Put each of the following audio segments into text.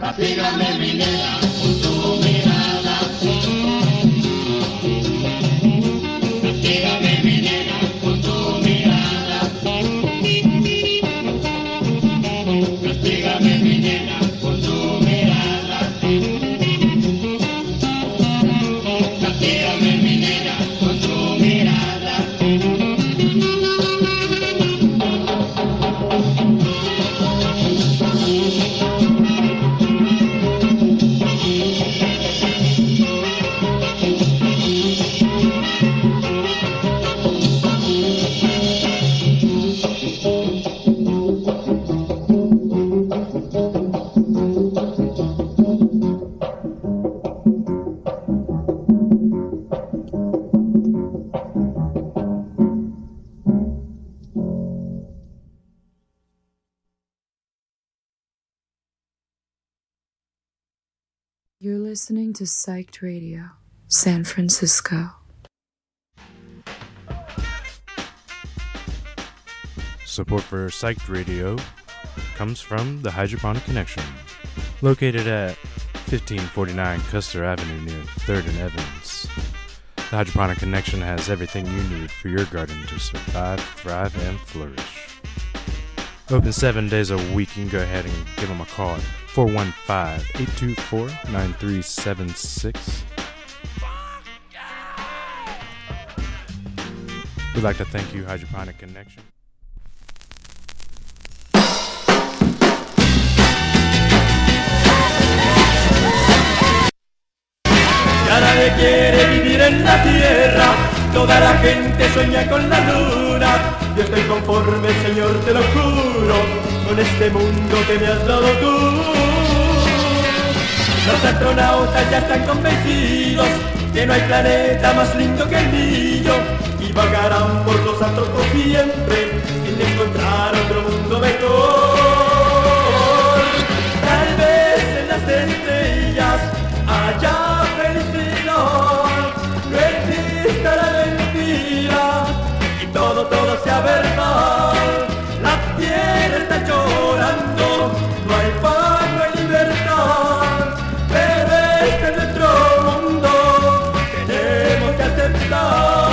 Castígame mi nena con tu mirada. Castígame mi nena con tu mirada. Castígame mi nena con tu mirada. Castígame mi nena con tu mirada. You're listening to Psyched Radio, San Francisco. Support for Psyched Radio comes from the Hydroponic Connection, located at 1549 Custer Avenue near 3rd and Evans. The Hydroponic Connection has everything you need for your garden to survive, thrive, and flourish. Open 7 days a week. You can go ahead and give them a call at 415-824-9376. We'd like to thank you, Hydroponic Connection. Ya nadie quiere vivir en la tierra, toda la gente sueña con la luna. Yo estoy conforme, Señor, te lo juro, con este mundo que me has dado tú. Los astronautas ya están convencidos que no hay planeta más lindo que el mío, y vagarán por los astros por siempre sin encontrar otro mundo mejor. Tal vez en las estrellas haya felicidad, no exista la mentira y todo sea verdad. La tierra está llorando, no hay paz, no hay libertad, pero este es nuestro mundo, tenemos que aceptar.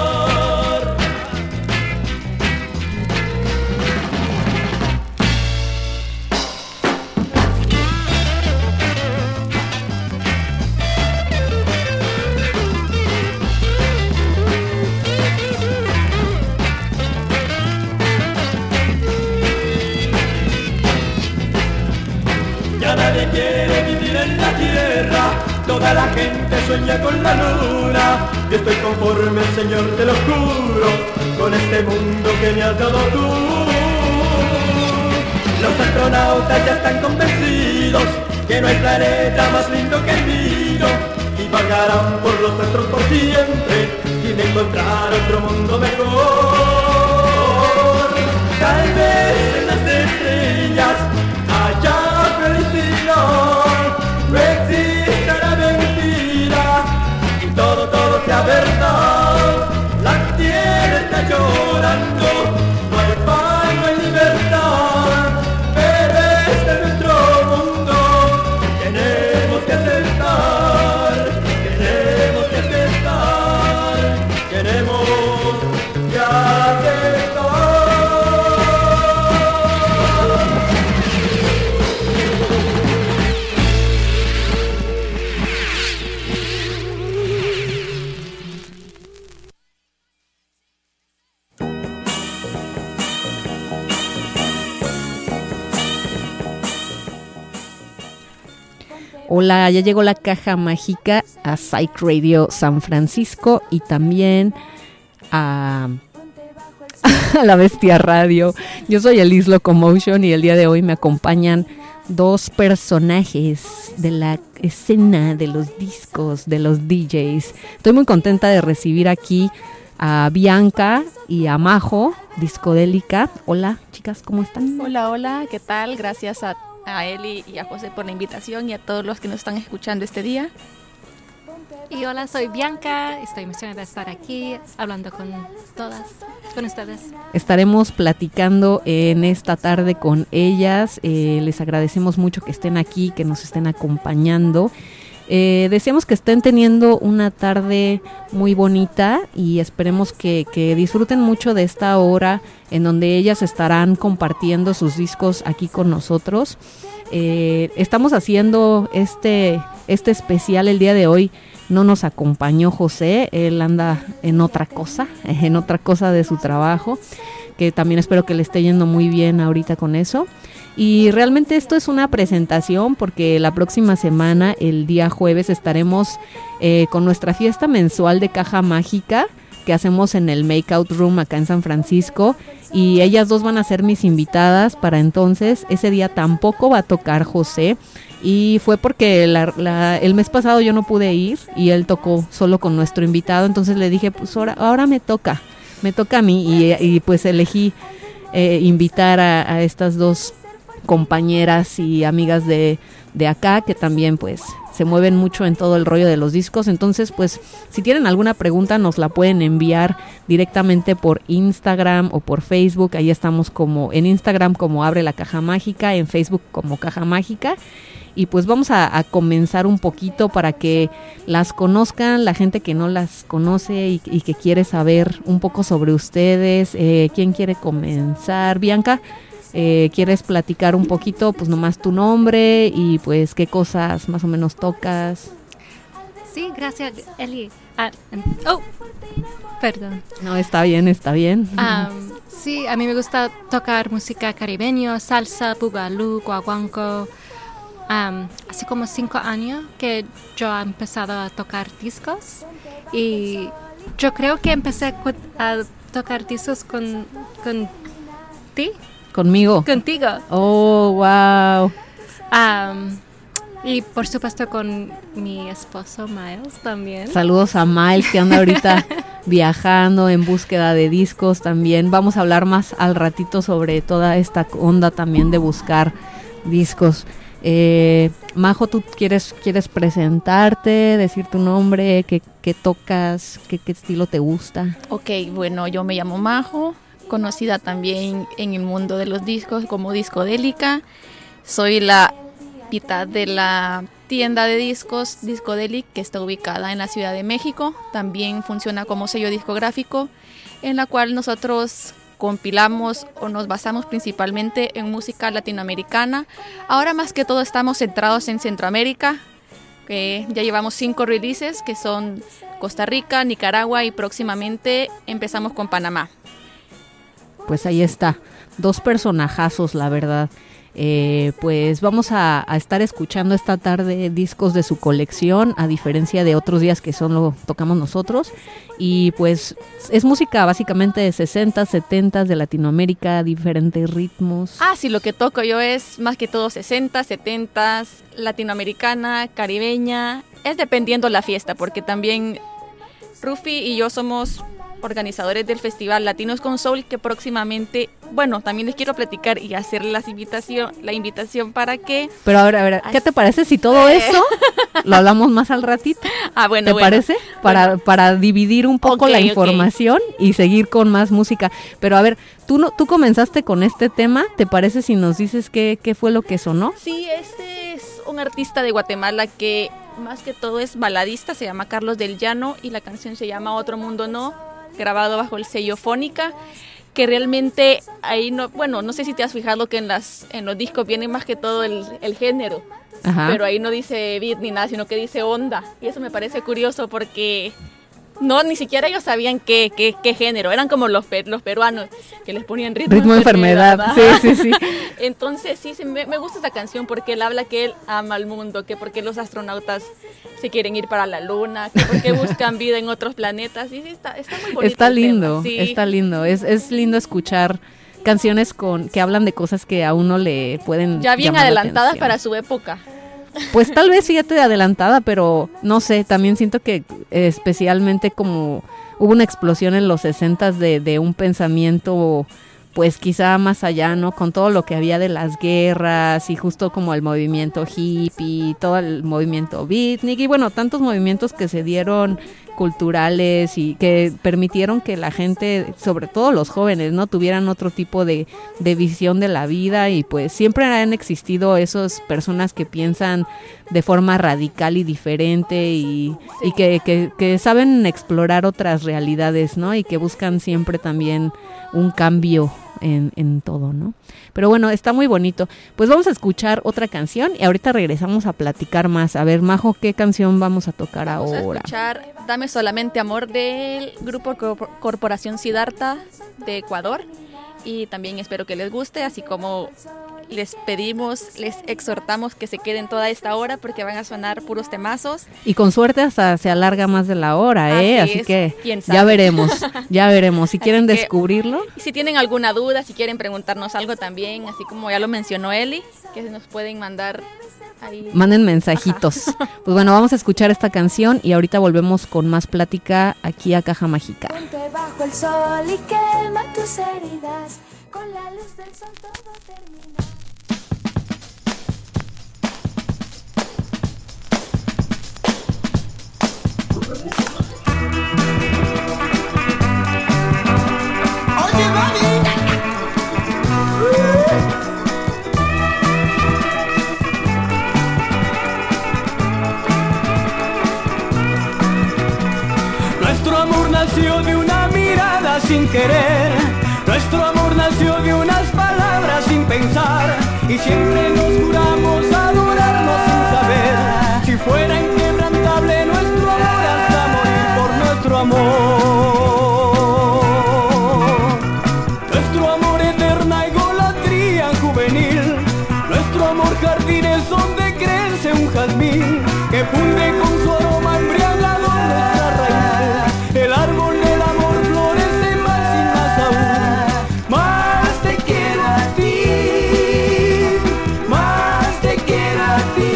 Nadie quiere vivir en la tierra, toda la gente sueña con la luna. Yo estoy conforme, Señor, te lo juro, con este mundo que me has dado tú. Los astronautas ya están convencidos que no hay planeta más lindo que el mío, y vagarán por los astros por siempre sin encontrar otro mundo mejor. Tal vez en las estrellas haya felicidad, no existe la mentira y todo sea verdad. La tierra está llorando, no hay paz, no hay libertad, pero este es nuestro mundo, tenemos que aceptar, tenemos que aceptar, tenemos que aceptar. Hola, ya llegó la caja mágica a Psyched Radio San Francisco y también a La Bestia Radio. Yo soy Elise Locomotion y el día de hoy me acompañan dos personajes de la escena de los discos, de los DJs. Estoy muy contenta de recibir aquí a Bianca y a Majo, Discodélica. Hola, chicas, ¿cómo están? Hola, ¿qué tal? Gracias a Eli y a José por la invitación y a todos los que nos están escuchando este día. Y hola, soy Bianca, estoy emocionada de estar aquí hablando con todas. con ustedes. Estaremos platicando en esta tarde con ellas. Les agradecemos mucho que estén aquí, que nos estén acompañando. Deseamos que estén teniendo una tarde muy bonita y esperemos que disfruten mucho de esta hora en donde ellas estarán compartiendo sus discos aquí con nosotros. Estamos haciendo este especial el día de hoy. No nos acompañó José, él anda en otra cosa de su trabajo, que también espero que le esté yendo muy bien ahorita con eso. Y realmente esto es una presentación porque la próxima semana, el día jueves, estaremos con nuestra fiesta mensual de Caja Mágica que hacemos en el Makeout Room acá en San Francisco, y ellas dos van a ser mis invitadas para entonces. Ese día tampoco va a tocar José, y fue porque el mes pasado yo no pude ir y él tocó solo con nuestro invitado, entonces le dije, pues ahora me toca a mí, y pues elegí invitar a estas dos compañeras y amigas de acá que también pues se mueven mucho en todo el rollo de los discos. Entonces pues si tienen alguna pregunta nos la pueden enviar directamente por Instagram o por Facebook. Ahí estamos como en Instagram como Abre la Caja Mágica, en Facebook como Caja Mágica. Y pues vamos a comenzar un poquito para que las conozcan la gente que no las conoce y que quiere saber un poco sobre ustedes. ¿Quién quiere comenzar? Bianca, ¿quieres platicar un poquito, pues nomás tu nombre y pues qué cosas más o menos tocas? Sí, gracias, Eli. Perdón. No, está bien. Sí, a mí me gusta tocar música caribeña, salsa, bugalú, guaguanco. Hace como 5 años que yo he empezado a tocar discos, y yo creo que empecé a tocar discos con ti. ¿Conmigo? Contigo. Oh, wow. Y por supuesto con mi esposo Miles también. Saludos a Miles, que anda ahorita viajando en búsqueda de discos también. Vamos a hablar más al ratito sobre toda esta onda también de buscar discos. Majo, ¿tú quieres presentarte, decir tu nombre, qué tocas, qué estilo te gusta? Ok, bueno, yo me llamo Majo, conocida también en el mundo de los discos como Discodélica. Soy la mitad de la tienda de discos Discodelic, que está ubicada en la Ciudad de México. También funciona como sello discográfico, en la cual nosotros compilamos o nos basamos principalmente en música latinoamericana. Ahora más que todo estamos centrados en Centroamérica. Ya llevamos 5 releases que son Costa Rica, Nicaragua, y próximamente empezamos con Panamá. Pues ahí está, 2 personajazos, la verdad. Pues vamos a estar escuchando esta tarde discos de su colección, a diferencia de otros días que solo tocamos nosotros. Y pues es música básicamente de 60s, 70s de Latinoamérica, diferentes ritmos. Sí, lo que toco yo es más que todo 60s, 70s, latinoamericana, caribeña. Es dependiendo la fiesta, porque también Rufi y yo somos organizadores del festival Latinos con Soul, que próximamente, bueno, también les quiero platicar y hacer la invitación para que... Pero a ver, ¿qué te parece si todo eso lo hablamos más al ratito? Bueno. ¿Te parece? Para dividir un poco la información y seguir con más música. Pero a ver, tú comenzaste con este tema, ¿te parece si nos dices qué fue lo que sonó? Sí, este es un artista de Guatemala que más que todo es baladista, se llama Carlos del Llano, y la canción se llama Otro Mundo No, grabado bajo el sello Fónica, que realmente ahí no sé si te has fijado que en los discos viene más que todo el género. Ajá. Pero ahí no dice beat ni nada, sino que dice onda, y eso me parece curioso porque ni siquiera ellos sabían qué género, eran como los peruanos que les ponían ritmo enfermedad. Sí. Entonces sí, me gusta esa canción porque él habla que él ama al mundo, que porque los astronautas se quieren ir para la luna, que porque buscan vida en otros planetas. Y sí, está muy bonito. Está lindo, sí. Está lindo. Es lindo escuchar canciones que hablan de cosas que a uno le pueden ya bien adelantadas para su época. Pues tal vez fíjate adelantada, pero no sé, también siento que especialmente como hubo una explosión en los 60s de un pensamiento pues quizá más allá, ¿no? Con todo lo que había de las guerras y justo como el movimiento hippie, todo el movimiento beatnik y bueno, tantos movimientos que se dieron culturales y que permitieron que la gente, sobre todo los jóvenes, ¿no? Tuvieran otro tipo de visión de la vida, y pues siempre han existido esas personas que piensan de forma radical y diferente y que saben explorar otras realidades, ¿no? Y que buscan siempre también un cambio en todo, ¿no? Pero bueno, está muy bonito. Pues vamos a escuchar otra canción y ahorita regresamos a platicar más. A ver, Majo, ¿qué canción vamos a tocar ahora? Vamos a escuchar Dame Solamente Amor del grupo Corporación Siddhartha de Ecuador, y también espero que les guste, así como les pedimos, les exhortamos que se queden toda esta hora porque van a sonar puros temazos. Y con suerte hasta se alarga más de la hora, ¿eh? Así que ya veremos, ya veremos. Si quieren descubrirlo. Si tienen alguna duda, si quieren preguntarnos algo también, así como ya lo mencionó Eli, que nos pueden mandar ahí. Manden mensajitos. Pues bueno, vamos a escuchar esta canción y ahorita volvemos con más plática aquí a Caja Mágica. Ponte bajo el sol y quema tus heridas, con la luz del sol todo termina. Nuestro amor nació de una mirada sin querer, nuestro amor nació de unas palabras sin pensar, y siempre nos juramos adorarnos sin saber si fuera inquebrantable nuestro amor hasta morir por nuestro amor. Nuestro amor eterna idolatría juvenil, nuestro amor jardines donde crece un jazmín que funde con su aroma embriagador nuestras raíces. El árbol del amor florece más y más aún. Más te quiero a ti, más te quiero a ti.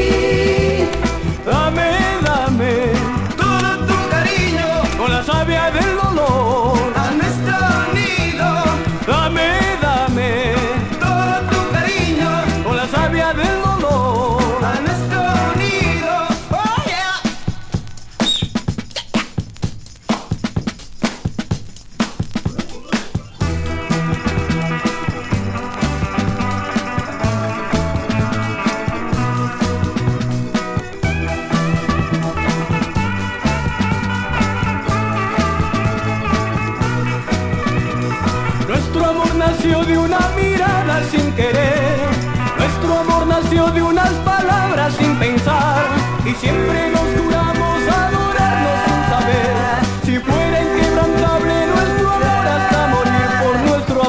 Dame, dame todo tu cariño con la savia del dolor a nuestro nido. Dame, dame todo tu cariño con la savia del dolor a nuestro nido. Oh yeah. Nuestro amor nació de una mirada sin querer, nuestro amor nació de unas palabras sin pensar, y siempre nos juramos adorarnos sin saber si fuera inquebrantable nuestro amor hasta morir por nuestro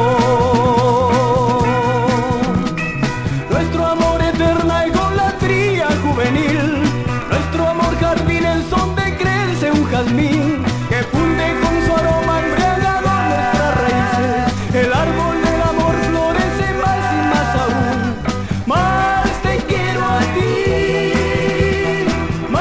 amor. Nuestro amor eterna idolatría juvenil, nuestro amor jardines donde crece un jazmín que funde con su aroma embriagador nuestras raíces. El árbol del amor florece más y más aún. Más te quiero a ti,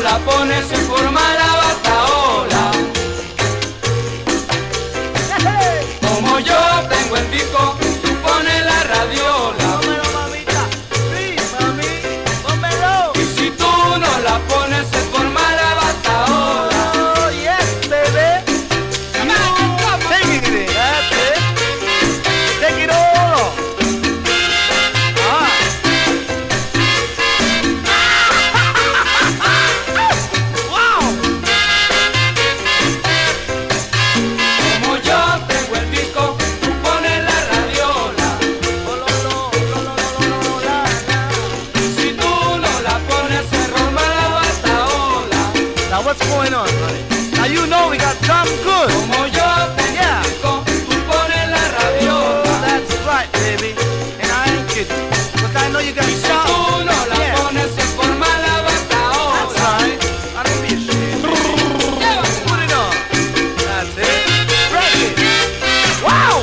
la pones se forma la bataola. Como yo tengo el disco, tú pones la radiola. Pónmelo, mamita, sí, mami, pónmelo. Y si tú no la pones se forma la bataola. Oh, yes, baby. Come on, take it, that's it. Take it all. Wow. Como yo tengo el disco, tú pones la radiola. Si tú no la pones se forma la bataola. Now what's going on, honey? Now you know we got something good. Como yo tengo el disco, tú pones la radiola. That's right, baby. And I ain't kidding. But I know you got something. Si tú no la pones se forma la bataola. That's right. I don't be ashamed. Put it on. That's it. Rock it. Wow!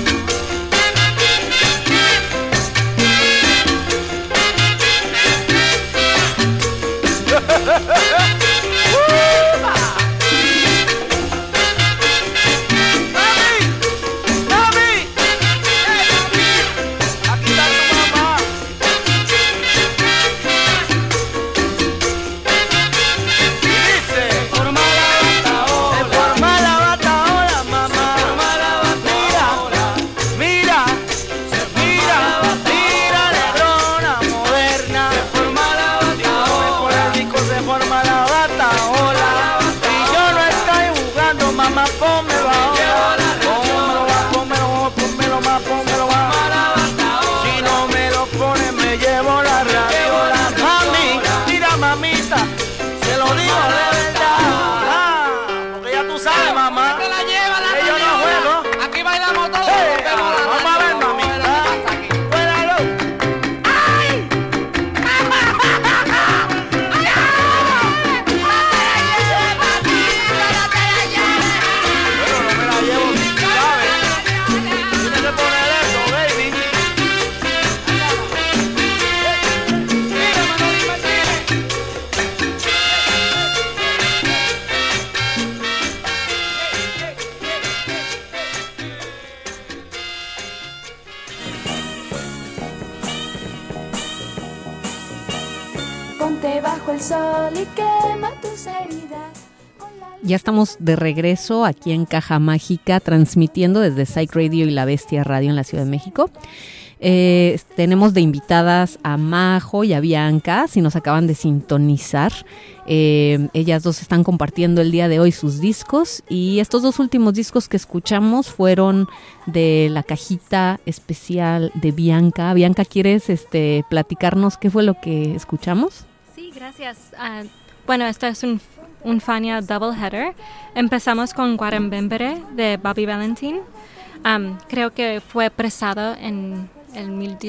Mami, mami, aquí está tu mamá. Y dice, forma la bataola, mamá. Mira, negrona moderna. Por el disco se forma la bataola. Y yo no estoy jugando, mamá, pónmelo ahora. Pónmelo más. Si no me lo pones me llevo la radiola. Mami, mira, mamita, se lo digo de verdad. Porque ya tú sabes, mamá, que yo no juego. Aquí bailamos todos. Vamos a ver, mamita. Cuélalo. ¡Ay! Bueno, no me la llevo sin clave. Tienes que poner eso, baby. Mira, Manoli Martínez. Ponte bajo el sol y quema tus heridas. Ya estamos de regreso aquí en Caja Mágica, transmitiendo desde Psych Radio y La Bestia Radio en la Ciudad de México. Tenemos de invitadas a Majo y a Bianca, si nos acaban de sintonizar. Ellas dos están compartiendo el día de hoy sus discos, y estos dos últimos discos que escuchamos fueron de la cajita especial de Bianca. Bianca, ¿quieres platicarnos qué fue lo que escuchamos? Sí, gracias. Bueno, esto es un Fania Double Header. Empezamos con Guarambembere de Bobby Valentin. Creo que fue presado en el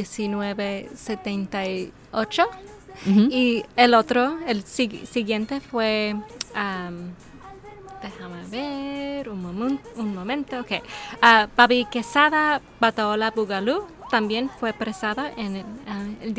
1978. Uh-huh. Y el otro, el siguiente fue, déjame ver, un momento, ok. Babi Quesada, Bataola Bugalú, también fue presada en el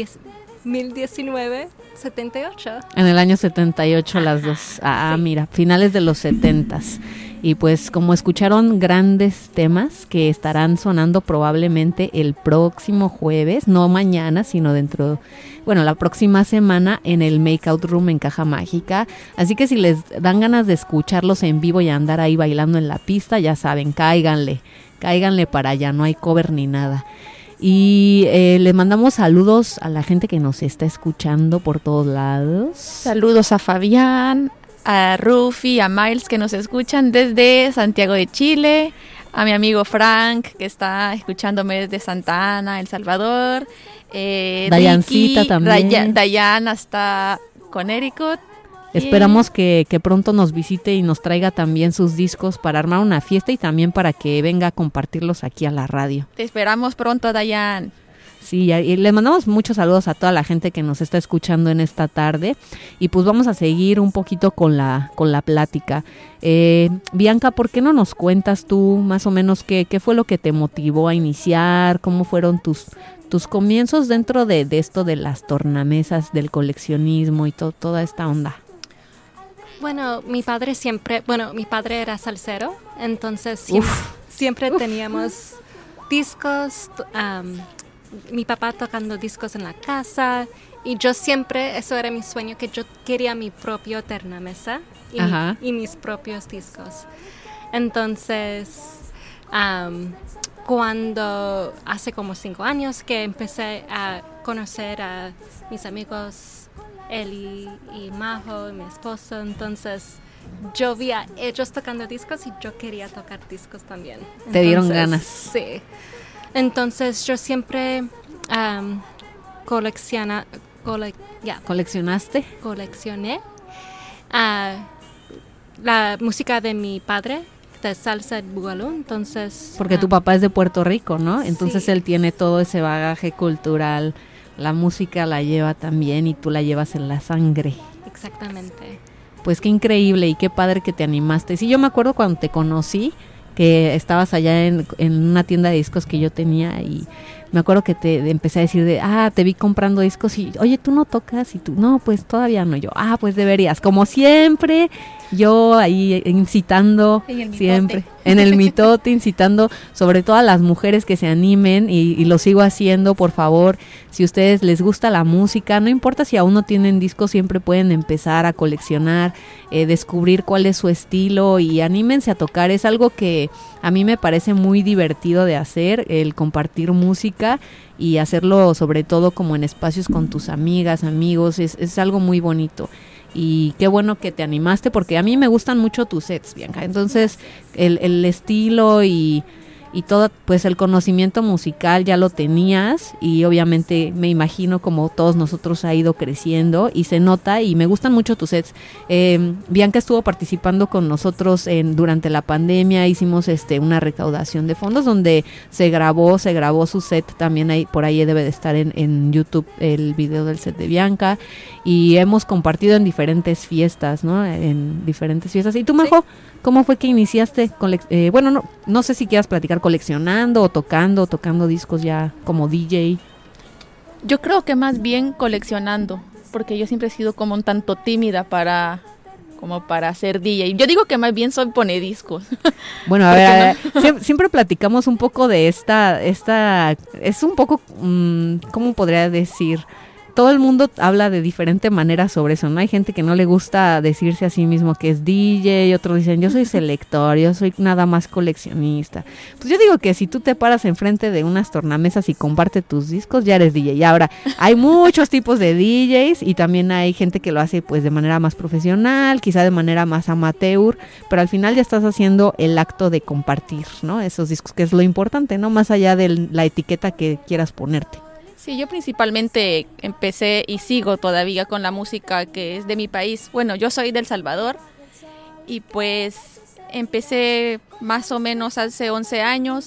1978. En el año 78 las dos. Sí. Mira, finales de los 70s. Y pues como escucharon, grandes temas que estarán sonando probablemente el próximo jueves, no mañana, sino la próxima semana en el Makeout Room en Caja Mágica. Así que si les dan ganas de escucharlos en vivo y andar ahí bailando en la pista, ya saben, cáiganle para allá, no hay cover ni nada. Y le mandamos saludos a la gente que nos está escuchando por todos lados. Saludos a Fabián, a Rufi, a Miles, que nos escuchan desde Santiago de Chile, a mi amigo Frank, que está escuchándome desde Santa Ana, El Salvador, Dayancita Ricky, también. Dayan hasta Connecticut. Esperamos que pronto nos visite y nos traiga también sus discos para armar una fiesta y también para que venga a compartirlos aquí a la radio. Te esperamos pronto, Dayan. Sí, y le mandamos muchos saludos a toda la gente que nos está escuchando en esta tarde, y pues vamos a seguir un poquito con la plática. Bianca, ¿por qué no nos cuentas tú más o menos qué fue lo que te motivó a iniciar? ¿Cómo fueron tus comienzos dentro de esto de las tornamesas, del coleccionismo y toda esta onda? Bueno, mi padre era salsero, entonces siempre teníamos discos, mi papá tocando discos en la casa, y yo siempre, eso era mi sueño, que yo quería mi propio tornamesa y mis propios discos. Entonces, cuando hace como 5 años que empecé a conocer a mis amigos Eli y Majo y mi esposo, entonces yo vi a ellos tocando discos y yo quería tocar discos también. Te dieron ganas. Sí. Entonces yo siempre ¿Coleccionaste? Coleccioné la música de mi padre, de salsa y bugalú, entonces... Porque tu papá es de Puerto Rico, ¿no? Entonces sí. Él tiene todo ese bagaje cultural, la música la lleva también y tú la llevas en la sangre. Exactamente. Pues qué increíble y qué padre que te animaste. Sí, yo me acuerdo cuando te conocí, que estabas allá en una tienda de discos que yo tenía, y me acuerdo que te empecé a decir te vi comprando discos y, oye, ¿tú no tocas? Y tú, no, pues todavía no. Yo, pues deberías. Como siempre, yo ahí incitando, siempre, en el mitote, incitando sobre todo a las mujeres que se animen, y lo sigo haciendo, por favor. Si a ustedes les gusta la música, no importa si aún no tienen discos, siempre pueden empezar a coleccionar, descubrir cuál es su estilo, y anímense a tocar. Es algo que a mí me parece muy divertido de hacer, el compartir música y hacerlo sobre todo como en espacios con tus amigas, amigos, es algo muy bonito. Y qué bueno que te animaste, porque a mí me gustan mucho tus sets, Bianca. Entonces el estilo y todo, pues el conocimiento musical ya lo tenías, y obviamente me imagino como todos nosotros ha ido creciendo y se nota, y me gustan mucho tus sets. Bianca estuvo participando con nosotros durante la pandemia, hicimos una recaudación de fondos donde se grabó su set también, por ahí debe de estar en YouTube el video del set de Bianca, y hemos compartido en diferentes fiestas, ¿no? En diferentes fiestas. ¿Y tú, Majo? Sí. ¿Cómo fue que iniciaste? No sé si quieras platicar, coleccionando o tocando discos ya como DJ. Yo creo que más bien coleccionando, porque yo siempre he sido como un tanto tímida para ser DJ. Yo digo que más bien soy ponediscos. Bueno, a ver, siempre platicamos un poco de esta es un poco, ¿cómo podría decir? Todo el mundo habla de diferente manera sobre eso, ¿no? Hay gente que no le gusta decirse a sí mismo que es DJ, y otros dicen, yo soy selector, yo soy nada más coleccionista. Pues yo digo que si tú te paras enfrente de unas tornamesas y compartes tus discos, ya eres DJ. Y ahora, hay muchos tipos de DJs, y también hay gente que lo hace pues de manera más profesional, quizá de manera más amateur, pero al final ya estás haciendo el acto de compartir, ¿no? Esos discos, que es lo importante, ¿no? Más allá de la etiqueta que quieras ponerte. Sí, yo principalmente empecé y sigo todavía con la música que es de mi país. Bueno, yo soy de El Salvador, y pues empecé más o menos hace 11 años,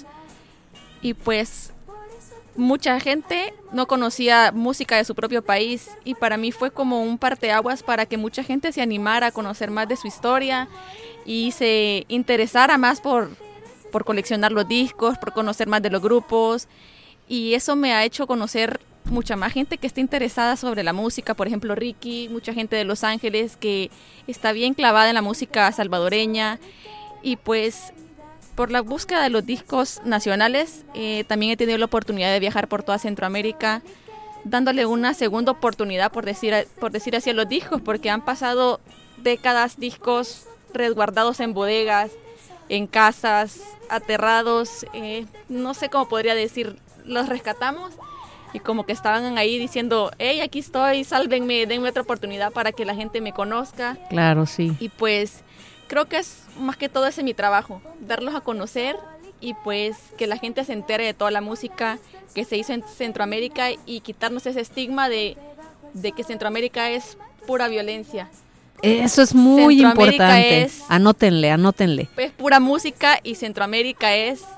y pues mucha gente no conocía música de su propio país, y para mí fue como un parteaguas para que mucha gente se animara a conocer más de su historia y se interesara más por coleccionar los discos, por conocer más de los grupos. Y eso me ha hecho conocer mucha más gente que está interesada sobre la música. Por ejemplo, Ricky, mucha gente de Los Ángeles que está bien clavada en la música salvadoreña. Y pues por la búsqueda de los discos nacionales, también he tenido la oportunidad de viajar por toda Centroamérica, dándole una segunda oportunidad, por decir así, a los discos, porque han pasado décadas discos resguardados en bodegas, en casas, aterrados, no sé cómo podría decir. Los rescatamos y como que estaban ahí diciendo, hey, aquí estoy, sálvenme, denme otra oportunidad para que la gente me conozca. Claro, sí. Y pues creo que es más que todo ese mi trabajo, darlos a conocer, y pues que la gente se entere de toda la música que se hizo en Centroamérica, y quitarnos ese estigma de que Centroamérica es pura violencia. Eso es muy importante. Anótenle. Es pura música, y Centroamérica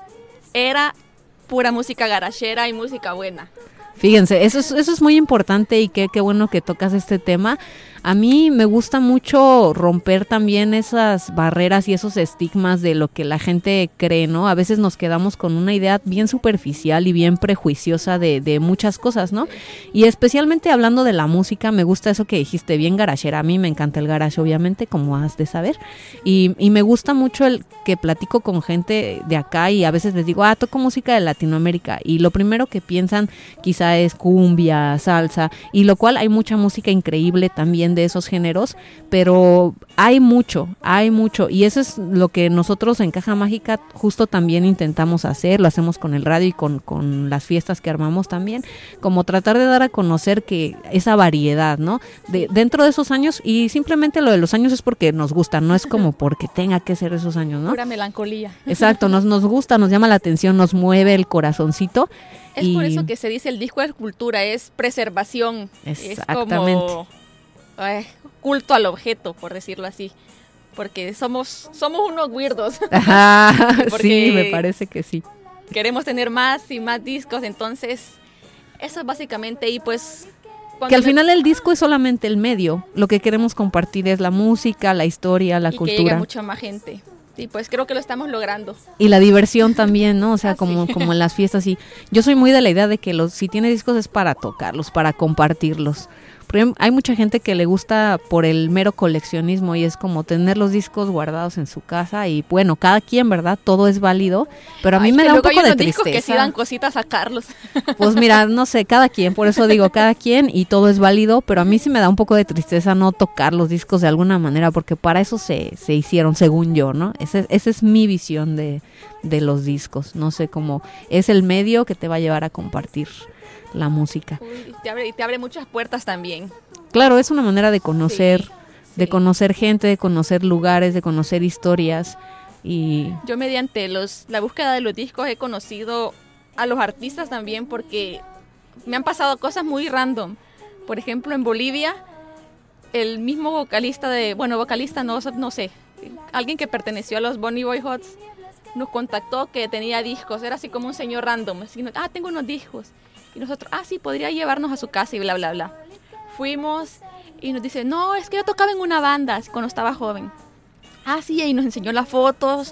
era pura música garachera y música buena. Fíjense, eso es muy importante, y qué bueno que tocas este tema. A mí me gusta mucho romper también esas barreras y esos estigmas de lo que la gente cree, ¿no? A veces nos quedamos con una idea bien superficial y bien prejuiciosa de muchas cosas, ¿no? Y especialmente hablando de la música, me gusta eso que dijiste, bien garagera. A mí me encanta el garage, obviamente, como has de saber. Y me gusta mucho el que platico con gente de acá y a veces les digo, toco música de Latinoamérica. Y lo primero que piensan quizá es cumbia, salsa, y lo cual hay mucha música increíble también de esos géneros, pero hay mucho, y eso es lo que nosotros en Caja Mágica justo también intentamos hacer, lo hacemos con el radio y con las fiestas que armamos también, como tratar de dar a conocer que esa variedad, ¿no? Dentro de esos años, y simplemente lo de los años es porque nos gusta, no es como porque tenga que ser esos años, ¿no? Pura melancolía. Exacto, nos gusta, nos llama la atención, nos mueve el corazoncito. Es por eso que se dice el disco es cultura, es preservación. Exactamente. Es como culto al objeto, por decirlo así. Porque somos unos weirdos. Sí, me parece que sí. Queremos tener más y más discos, entonces eso es básicamente, y pues... Que al final el disco es solamente el medio, lo que queremos compartir es la música, la historia, la cultura. Y que llegue mucha más gente. Y pues creo que lo estamos logrando. Y la diversión también, ¿no? O sea, como en las fiestas. Y yo soy muy de la idea de que si tienes discos es para tocarlos, para compartirlos. Porque hay mucha gente que le gusta por el mero coleccionismo y es como tener los discos guardados en su casa y bueno, cada quien, ¿verdad? Todo es válido, pero a mí me da un poco de tristeza. Que sí dan cositas a Carlos. Pues mira, no sé, cada quien, por eso digo cada quien y todo es válido, pero a mí sí me da un poco de tristeza no tocar los discos de alguna manera porque para eso se hicieron, según yo, ¿no? Esa es mi visión de los discos, no sé cómo es el medio que te va a llevar a compartir la música. Uy, te abre muchas puertas también. Claro, es una manera de conocer, sí. De conocer gente, de conocer lugares, de conocer historias. Y yo mediante la búsqueda de los discos he conocido a los artistas también porque me han pasado cosas muy random. Por ejemplo, en Bolivia, el mismo vocalista no sé, alguien que perteneció a los Bonnie Boyhots nos contactó que tenía discos, era así como un señor random, así, tengo unos discos. Y nosotros, sí, podría llevarnos a su casa y bla, bla, bla. Fuimos y nos dice, no, es que yo tocaba en una banda cuando estaba joven. Sí, y nos enseñó las fotos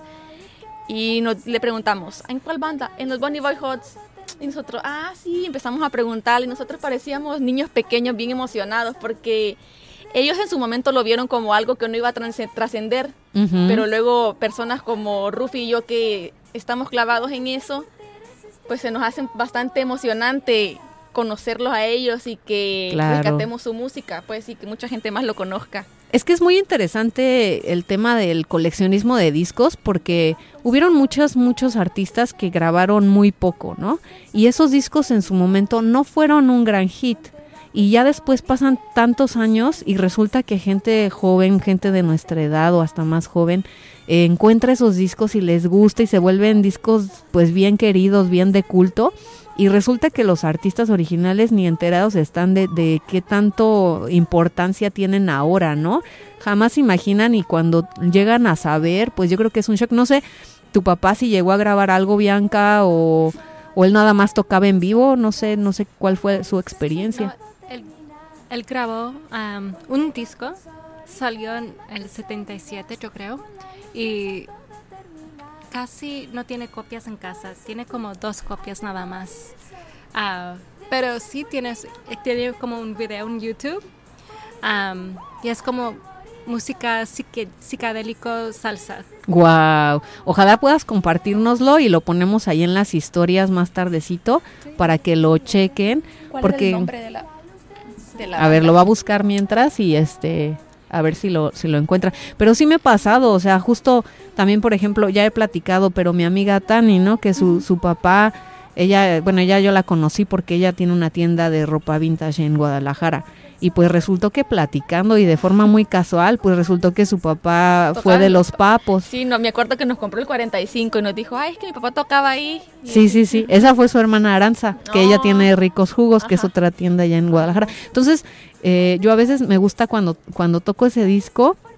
y le preguntamos, ¿en cuál banda? En los Bonnie Boyhots. Y nosotros, sí, empezamos a preguntarle y nosotros parecíamos niños pequeños bien emocionados porque ellos en su momento lo vieron como algo que no iba a trascender, pero luego personas como Rufi y yo que estamos clavados en eso, pues se nos hace bastante emocionante conocerlos a ellos y que rescatemos su música, pues, y que mucha gente más lo conozca. Es que es muy interesante el tema del coleccionismo de discos porque hubieron muchos artistas que grabaron muy poco, ¿no? Y esos discos en su momento no fueron un gran hit. Y ya después pasan tantos años y resulta que gente joven, gente de nuestra edad o hasta más joven, encuentra esos discos y les gusta y se vuelven discos pues bien queridos, bien de culto. Y resulta que los artistas originales ni enterados están de qué tanto importancia tienen ahora, ¿no? Jamás imaginan y cuando llegan a saber, pues yo creo que es un shock. No sé, tu papá si llegó a grabar algo, Bianca, o él nada más tocaba en vivo, no sé cuál fue su experiencia. No, él grabó un disco, salió en el 77 yo creo, y casi no tiene copias en casa, tiene como 2 copias nada más. Pero sí tiene como un video en YouTube y es como música psicodélico salsa. Wow, ojalá puedas compartirnoslo y lo ponemos ahí en las historias más tardecito para que lo chequen. ¿Cuál es el nombre de la a ver, lo va a buscar mientras y a ver si lo encuentra. Pero sí me ha pasado, o sea, justo también, por ejemplo, ya he platicado, pero mi amiga Tani, ¿no? Que su papá, ella yo la conocí porque ella tiene una tienda de ropa vintage en Guadalajara. Y pues resultó que platicando y de forma muy casual, pues resultó que su papá fue de los Papos. Sí, no, me acuerdo que nos compró el 45 y nos dijo, es que mi papá tocaba ahí. Sí, esa fue su hermana Aranza, que ella tiene Ricos Jugos, que es otra tienda allá en Guadalajara. Entonces, yo a veces me gusta cuando toco ese disco,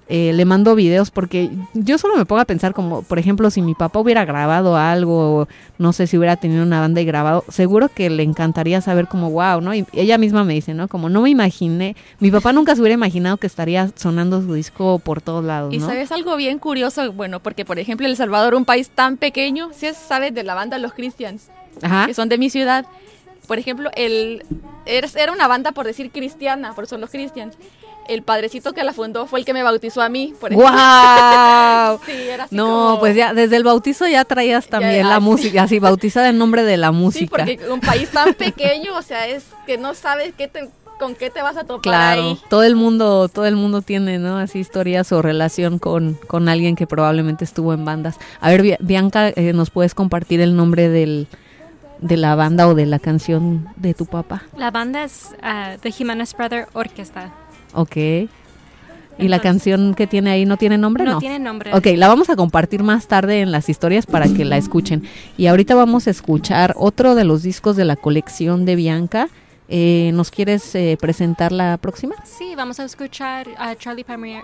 le mando videos porque yo solo me pongo a pensar como, por ejemplo, si mi papá hubiera grabado algo, no sé si hubiera tenido una banda y grabado, seguro que le encantaría saber como wow, ¿no? Y ella misma me dice, ¿no? Como no me imaginé, mi papá nunca se hubiera imaginado que estaría sonando su disco por todos lados, ¿no? Y sabes algo bien curioso, bueno, porque por ejemplo El Salvador, un país tan pequeño, si sabes de la banda Los Christians, Ajá. que son de mi ciudad, por ejemplo, era una banda por decir cristiana, por eso Los Christians. El padrecito que la fundó fue el que me bautizó a mí, por ejemplo. ¡Guau! Sí, era así No, como... pues ya desde el bautizo ya traías también la música, así bautizada en nombre de la música. Sí, porque un país tan pequeño, o sea, es que no sabes con qué te vas a topar claro, ahí. todo el mundo tiene, ¿no? Así historias o relación con alguien que probablemente estuvo en bandas. A ver, Bianca, ¿nos puedes compartir el nombre de la banda o de la canción de tu papá? La banda es The Jimenez Brother Orchestra. Ok. ¿Y la canción que tiene ahí no tiene nombre? No tiene nombre. Ok, la vamos a compartir más tarde en las historias para que la escuchen. Y ahorita vamos a escuchar otro de los discos de la colección de Bianca. ¿Nos quieres presentar la próxima? Sí, vamos a escuchar a Charlie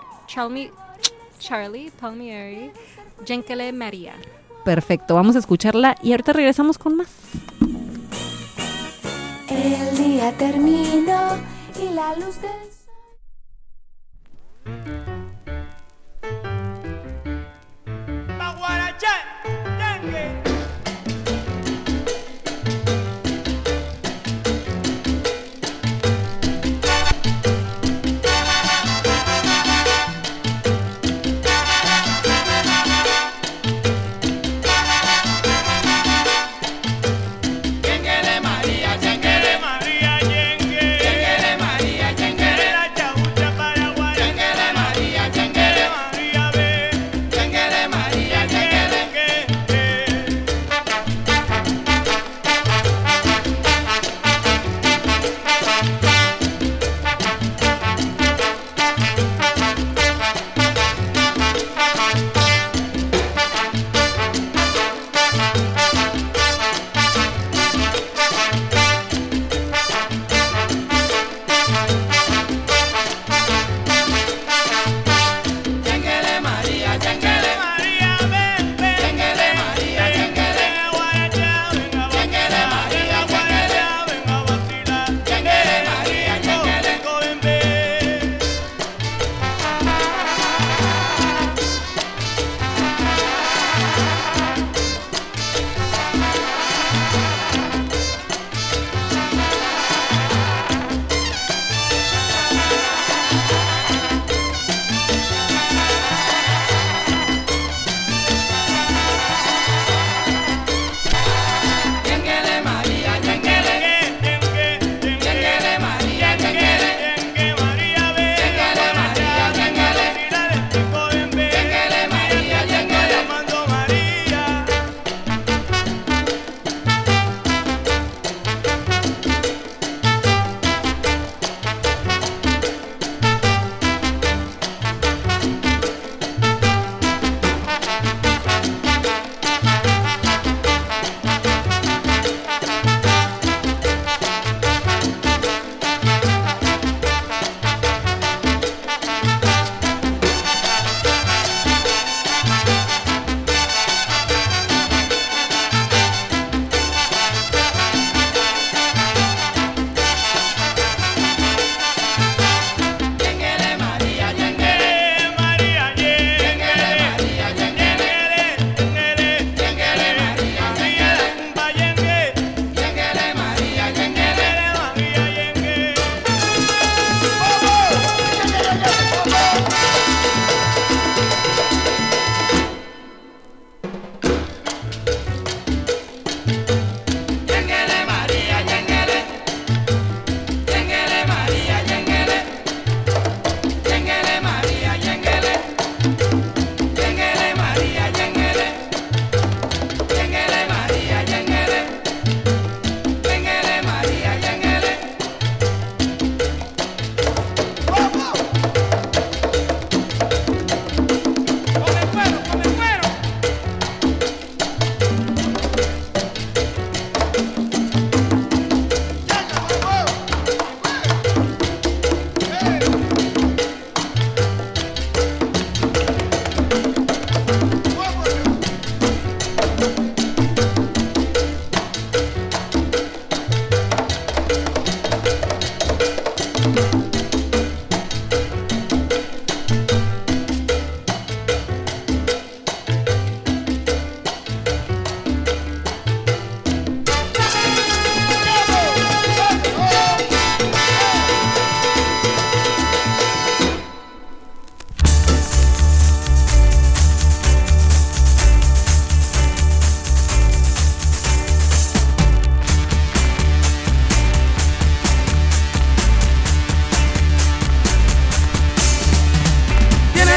Palmieri, Genkele Maria. Perfecto, vamos a escucharla y ahorita regresamos con más. El día terminó y la luz del sol. María, María,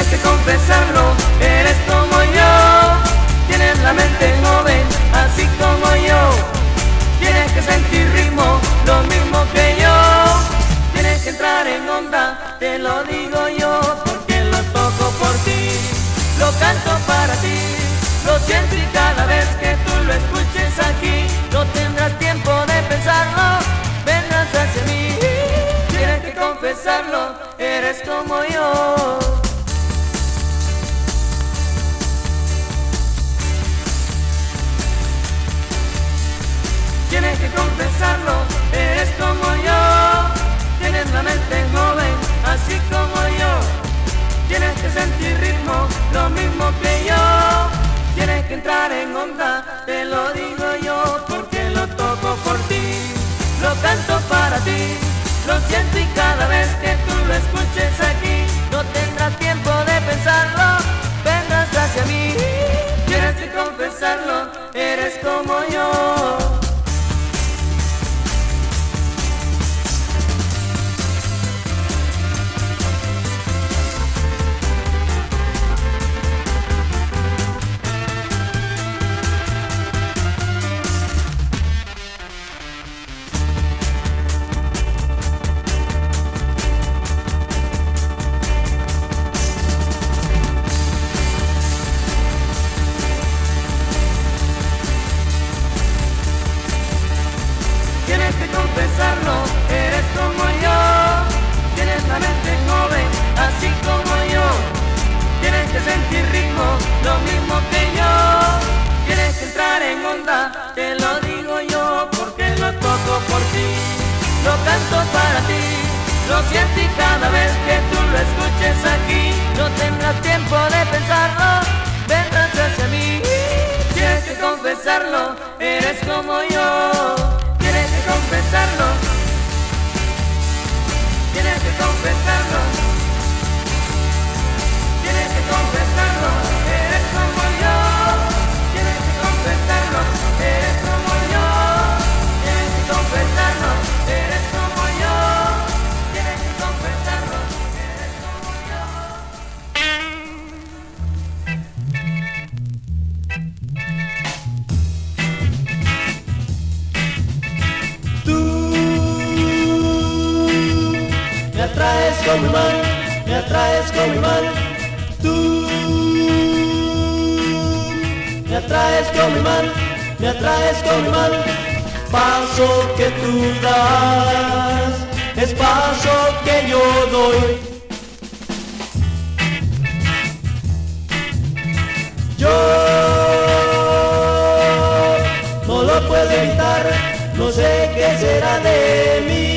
que confesarlo, eres como yo. Tienes la mente joven, así como yo. Tienes que sentir ritmo, lo mismo que yo. Tienes que entrar en onda, te lo digo yo, porque lo toco por ti, lo canto para ti, lo siento y cada vez que tú lo escuches aquí, no tendrás tiempo de pensarlo, vendrás hacia mí. Tienes que confesarlo, eres como yo. Tienes que confesarlo, eres como yo. Tienes la mente joven, así como yo. Tienes que sentir ritmo, lo mismo que yo. Tienes que entrar en onda, te lo digo yo, porque lo toco por ti, lo canto para ti, lo siento y cada vez que tú lo escuches aquí, no tendrás tiempo de pensarlo, vendrás hacia mí. Tienes que confesarlo, eres como yo. Confesarlo, eres como yo. Tienes la mente joven, así como yo. Tienes que sentir ritmo, lo mismo que yo. Tienes que entrar en onda, te lo digo yo, porque lo toco por ti, lo canto para ti, lo siento y cada vez que tú lo escuches aquí, no tendrás tiempo de pensarlo, vendrás hacia mí. Tienes que confesarlo, eres como yo. Tienes que confesarlo, tienes que confesarlo, tienes que confesarlo, eres como yo. Tienes que confesarlo, eres como yo. Tienes que confesarlo, eres como yo. Tienes que confesarlo, eres como yo. Me atraes como imán, me atraes como imán. Tú me atraes como imán, me atraes como imán. Paso que tú das es paso que yo doy. Yo no lo puedo evitar, no sé qué será de mí.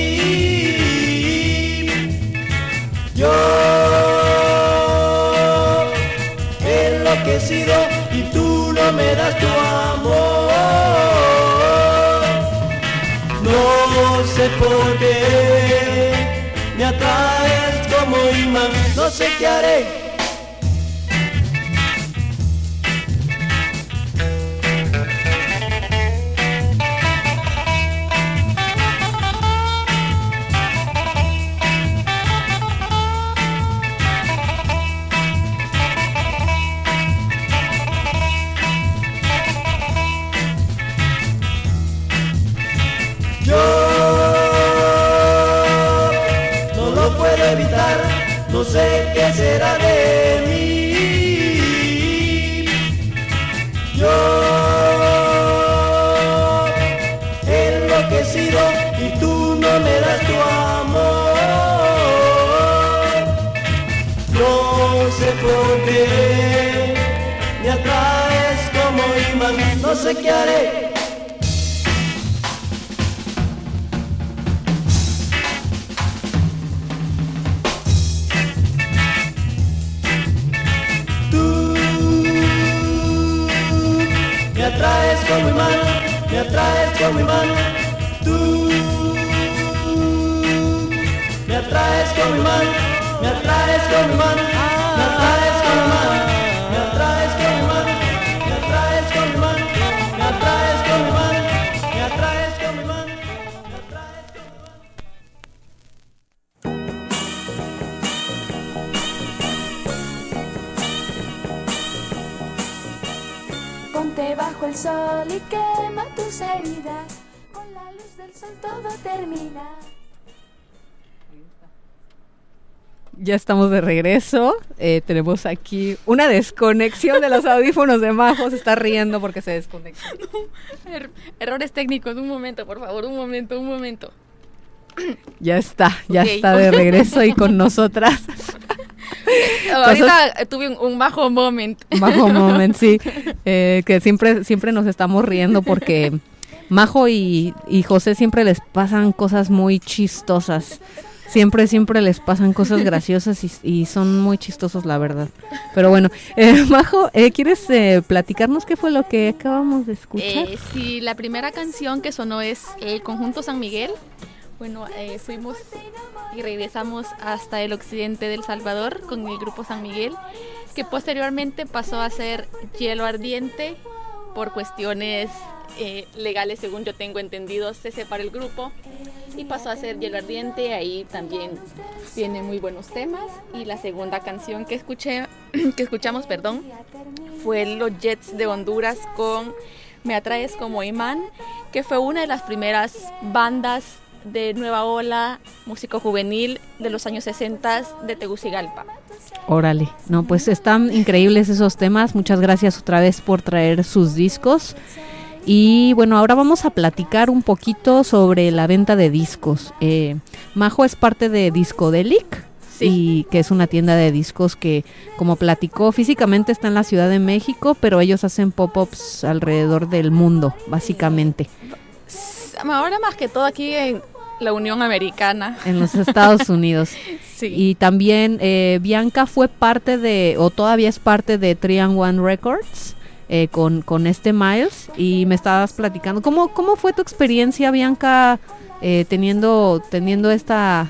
Yo he enloquecido y tú no me das tu amor. No sé por qué me atraes como imán, no sé qué haré. No sé qué será de mí. Yo he enloquecido y tú no me das tu amor. No sé por qué me atraes como imán, no sé qué haré. Me atraes como imán, me atraes como imán. Tú me atraes como imán, me atraes como imán, me atraes como imán, me atraes como imán, me atraes como imán, me atraes como imán, me atraes como imán, me atraes como imán. bajo el sol y quema tus heridas. Con la luz del sol todo termina. Ya estamos de regreso. Tenemos aquí una desconexión de los audífonos de Majo. Se está riendo porque se desconecta. Errores técnicos, un momento, por favor, un momento. Ya está Okay. de regreso y con nosotras. Ahorita tuve un Majo moment. Majo moment, sí. Que siempre nos estamos riendo porque Majo y José siempre les pasan cosas muy chistosas. Siempre les pasan cosas graciosas y son muy chistosos, la verdad. Pero bueno, Majo, ¿quieres platicarnos qué fue lo que acabamos de escuchar? Sí, la primera canción que sonó es el Conjunto San Miguel. Bueno, fuimos y regresamos hasta el occidente del Salvador con el grupo San Miguel, que posteriormente pasó a ser Hielo Ardiente por cuestiones legales, según yo tengo entendido. Se separó el grupo y pasó a ser Hielo Ardiente. Ahí también tiene muy buenos temas. Y la segunda canción que escuchamos, fue Los Jets de Honduras con Me Atraes como Imán, que fue una de las primeras bandas de nueva ola músico juvenil de los años 60 de Tegucigalpa. Órale, no, pues están increíbles esos temas. Muchas gracias otra vez por traer sus discos. Y bueno, ahora vamos a platicar un poquito sobre la venta de discos. Majo es parte de Discodelic, sí, y que es una tienda de discos que, como platicó, físicamente está en la Ciudad de México, pero ellos hacen pop-ups alrededor del mundo, básicamente. Ahora más que todo aquí en la Unión Americana. En los Estados Unidos. Sí. Y también Bianca fue parte de, o todavía es parte de 3&1 Records. Con este Miles, y me estabas platicando cómo fue tu experiencia, Bianca, teniendo esta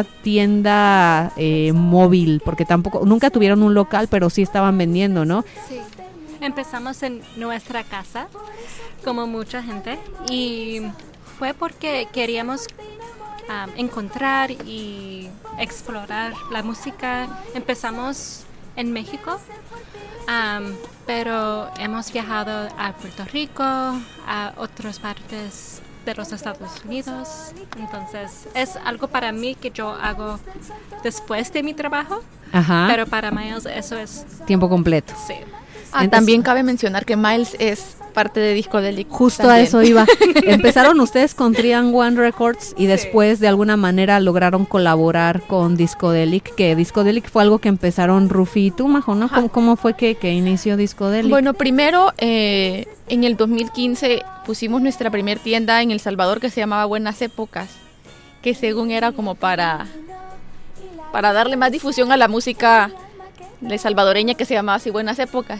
tienda móvil, porque nunca tuvieron un local, pero sí estaban vendiendo, ¿no? Sí, empezamos en nuestra casa, como mucha gente, y fue porque queríamos encontrar y explorar la música. Empezamos en México, pero hemos viajado a Puerto Rico, a otras partes de los Estados Unidos. Entonces es algo para mí que yo hago después de mi trabajo. Ajá. Pero para Miles eso es tiempo completo. Sí. Entonces, también cabe mencionar que Miles es parte de Discodelic. Justo también. A eso iba. Empezaron ustedes con 3&1 Records y después de alguna manera lograron colaborar con Discodelic, que Discodelic fue algo que empezaron Rufi y tú, Majo, ¿no? ¿Cómo fue que inició Discodelic? Bueno, primero en el 2015 pusimos nuestra primer tienda en El Salvador que se llamaba Buenas Épocas, que según era como para darle más difusión a la música de salvadoreña, que se llamaba así Buenas Épocas.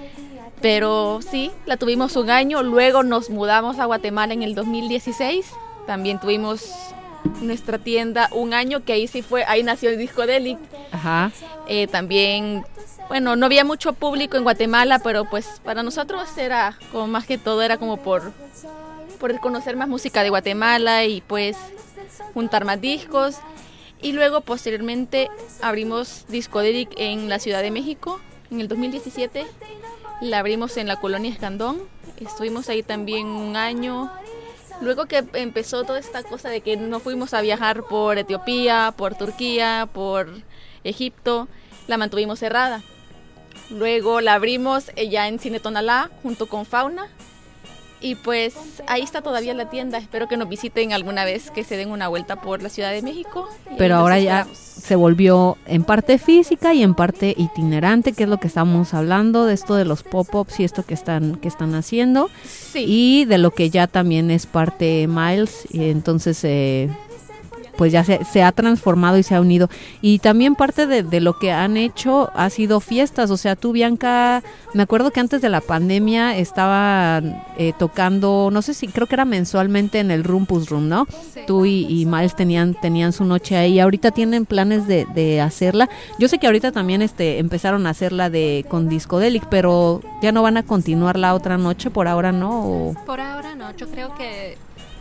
Pero sí, la tuvimos un año, luego nos mudamos a Guatemala en el 2016, también tuvimos nuestra tienda un año, que ahí nació el Discodelic. Ajá. También, bueno, no había mucho público en Guatemala, pero pues para nosotros era como más que todo, era como por conocer más música de Guatemala y pues juntar más discos. Y luego posteriormente abrimos Discodelic en la Ciudad de México en el 2017. La abrimos en la colonia Escandón, estuvimos ahí también un año. Luego que empezó toda esta cosa de que no fuimos a viajar por Etiopía, por Turquía, por Egipto, la mantuvimos cerrada. Luego la abrimos ya en Cine Tonalá junto con Fauna. Y pues ahí está todavía la tienda. Espero que nos visiten alguna vez, que se den una vuelta por la Ciudad de México. Pero ahora ya se volvió en parte física y en parte itinerante, que es lo que estamos hablando, de esto de los pop-ups y esto que están haciendo. Sí. Y de lo que ya también es parte Miles. Y entonces pues ya se ha transformado y se ha unido. Y también parte de lo que han hecho ha sido fiestas. O sea, tú, Bianca, me acuerdo que antes de la pandemia estaban tocando, no sé si, creo que era mensualmente en el Rumpus Room, ¿no? Sí. Tú y Miles tenían su noche ahí. Ahorita tienen planes de hacerla. Yo sé que ahorita también empezaron a hacerla con Discodelic, pero ya no van a continuar la otra noche, por ahora no. ¿O? Por ahora no, yo creo que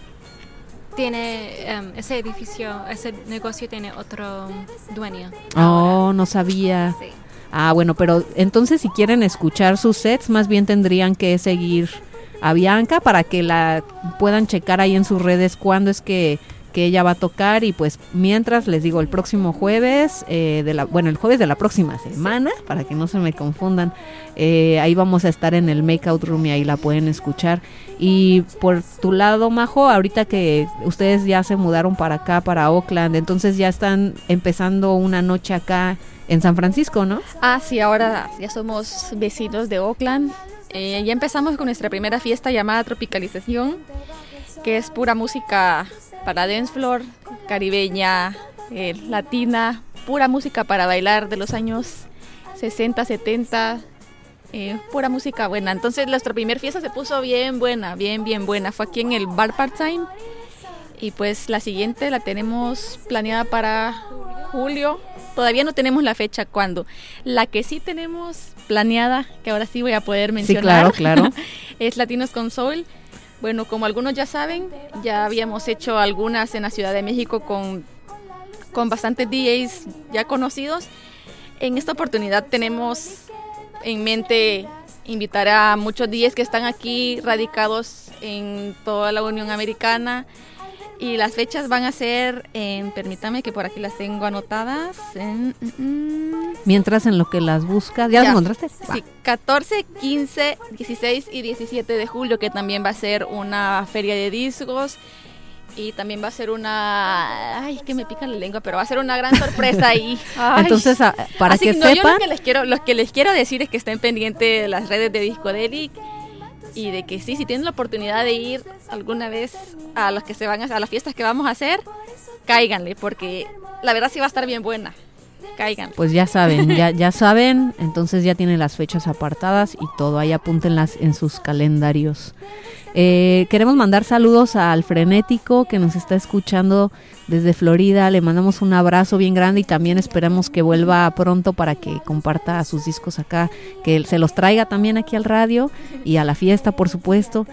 tiene ese edificio, ese negocio tiene otro dueño. Oh, no sabía. Sí. Ah, bueno, pero entonces si quieren escuchar sus sets, más bien tendrían que seguir a Bianca para que la puedan checar ahí en sus redes cuándo es que ella va a tocar. Y pues mientras les digo, el próximo jueves, el jueves de la próxima semana, para que no se me confundan, ahí vamos a estar en el Makeout Room y ahí la pueden escuchar. Y por tu lado, Majo, ahorita que ustedes ya se mudaron para acá, para Oakland, entonces ya están empezando una noche acá en San Francisco, ¿no? Ah, sí, ahora ya somos vecinos de Oakland. Ya empezamos con nuestra primera fiesta llamada Tropicalización, que es pura música para dance floor, caribeña, latina, pura música para bailar de los años 60, 70, pura música buena. Entonces nuestra primera fiesta se puso bien buena, bien buena. Fue aquí en el Bar Part-Time. Y pues la siguiente la tenemos planeada para julio. Todavía no tenemos la fecha cuándo. La que sí tenemos planeada, que ahora sí voy a poder mencionar, sí, claro. es Latinos con Soul. Bueno, como algunos ya saben, ya habíamos hecho algunas en la Ciudad de México con bastantes DJs ya conocidos. En esta oportunidad tenemos en mente invitar a muchos DJs que están aquí radicados en toda la Unión Americana. Y las fechas van a ser permítame que por aquí las tengo anotadas. Mientras en lo que las buscas, ¿ya las encontraste? Sí, 14, 15, 16 y 17 de julio, que también va a ser una feria de discos. Y también va a ser ay, que me pica la lengua, pero va a ser una gran sorpresa ahí. Ay. Entonces, para que sepan... Yo lo que les quiero decir es que estén pendientes de las redes de Discodelic. Y de que sí, si tienen la oportunidad de ir alguna vez a las que se van a las fiestas que vamos a hacer, cáiganle, porque la verdad sí va a estar bien buena. Cáiganle. Pues ya saben, ya saben, entonces ya tienen las fechas apartadas y todo, ahí apúntenlas en sus calendarios. Queremos mandar saludos al Frenético que nos está escuchando desde Florida. Le mandamos un abrazo bien grande y también esperamos que vuelva pronto para que comparta sus discos acá, que se los traiga también aquí al radio y a la fiesta, por supuesto.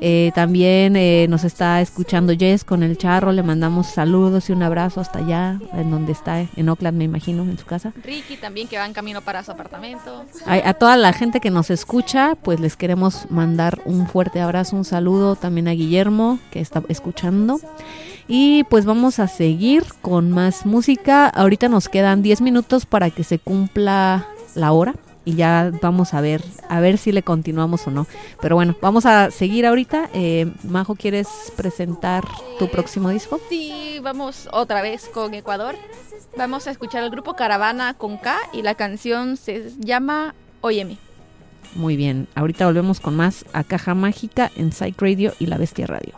También nos está escuchando Jess con el Charro, le mandamos saludos y un abrazo hasta allá, en donde está, en Oakland me imagino, en su casa. Ricky también, que va en camino para su apartamento. A toda la gente que nos escucha, pues les queremos mandar un fuerte abrazo, un saludo también a Guillermo, que está escuchando. Y pues vamos a seguir con más música. Ahorita nos quedan 10 minutos para que se cumpla la hora y ya vamos a ver si le continuamos o no. Pero bueno, vamos a seguir ahorita. Majo, ¿quieres presentar tu próximo disco? Sí, vamos otra vez con Ecuador. Vamos a escuchar al grupo Caravana con K y la canción se llama Óyeme. Muy bien, ahorita volvemos con más a Caja Mágica en Psych Radio y La Bestia Radio.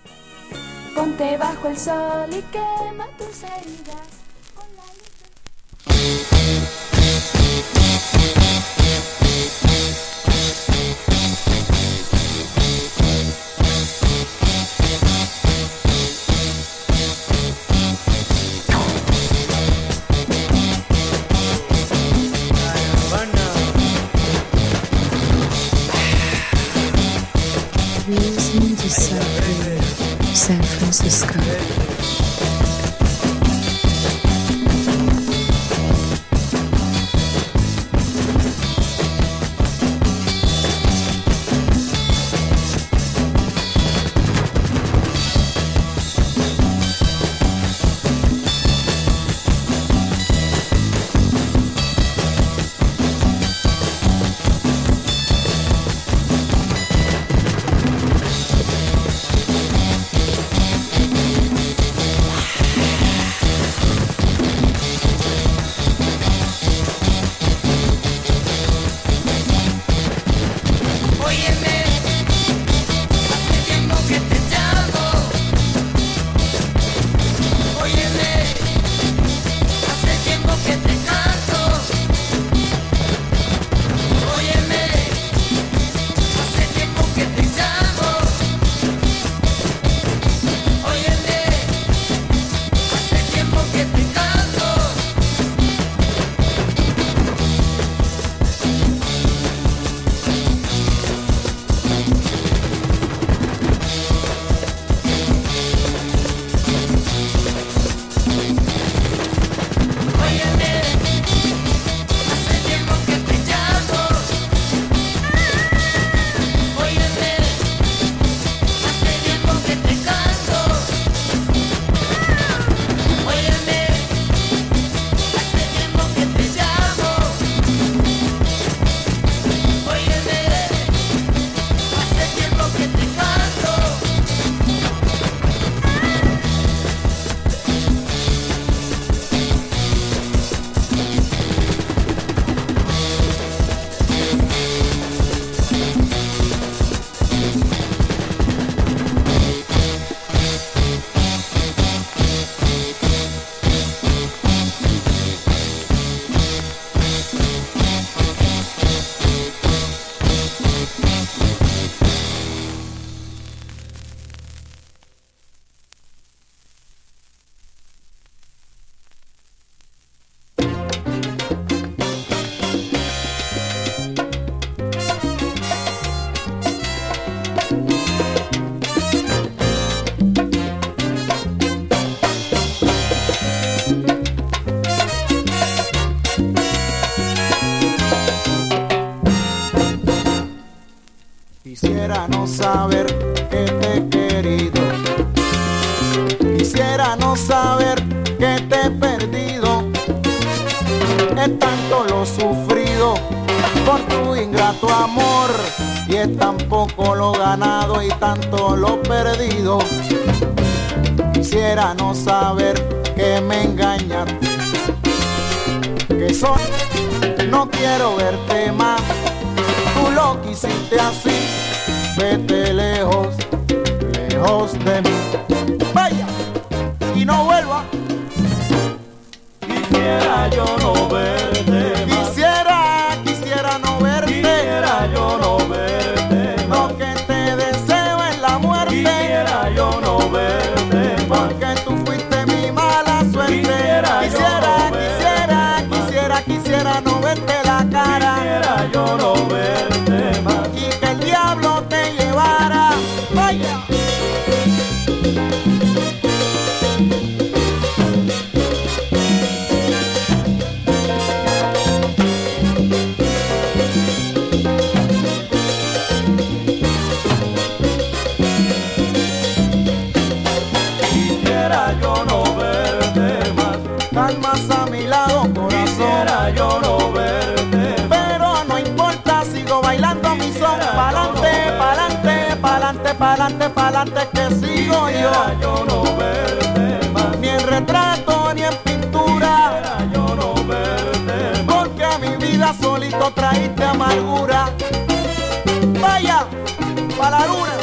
Ponte bajo el sol y quema tus heridas con la luz. You're listening to Psych Radio, San Francisco. saber que te he querido. Quisiera no saber que te he perdido. Es tanto lo sufrido por tu ingrato amor, y es tan poco lo ganado y tanto lo perdido. Quisiera no saber que me engañaste, que soy, no quiero verte más. Tú lo quisiste así, vete lejos, lejos de mí. Vaya y no vuelva. Quisiera yo no verte más. Quisiera no verte. Quisiera yo no verte más. Lo que te deseo es la muerte. Quisiera yo no verte más. Porque tú fuiste mi mala suerte. Quisiera no verte la cara. Quisiera yo no verte más. Y que el diablo te llevara. Vaya. Quisiera yo no verte más. Calmas a mi lado, corazón. Quisiera yo no verte más. Pero no importa, sigo bailando mi son. Pa'lante, pa'lante, pa'lante, pa'lante, pa'lante, que sigo yo. Quisiera yo no verte más. Ni en retrato ni en pintura. Quisiera yo no verte más. Porque a mi vida solito traíste amargura. Vaya, pa' la luna.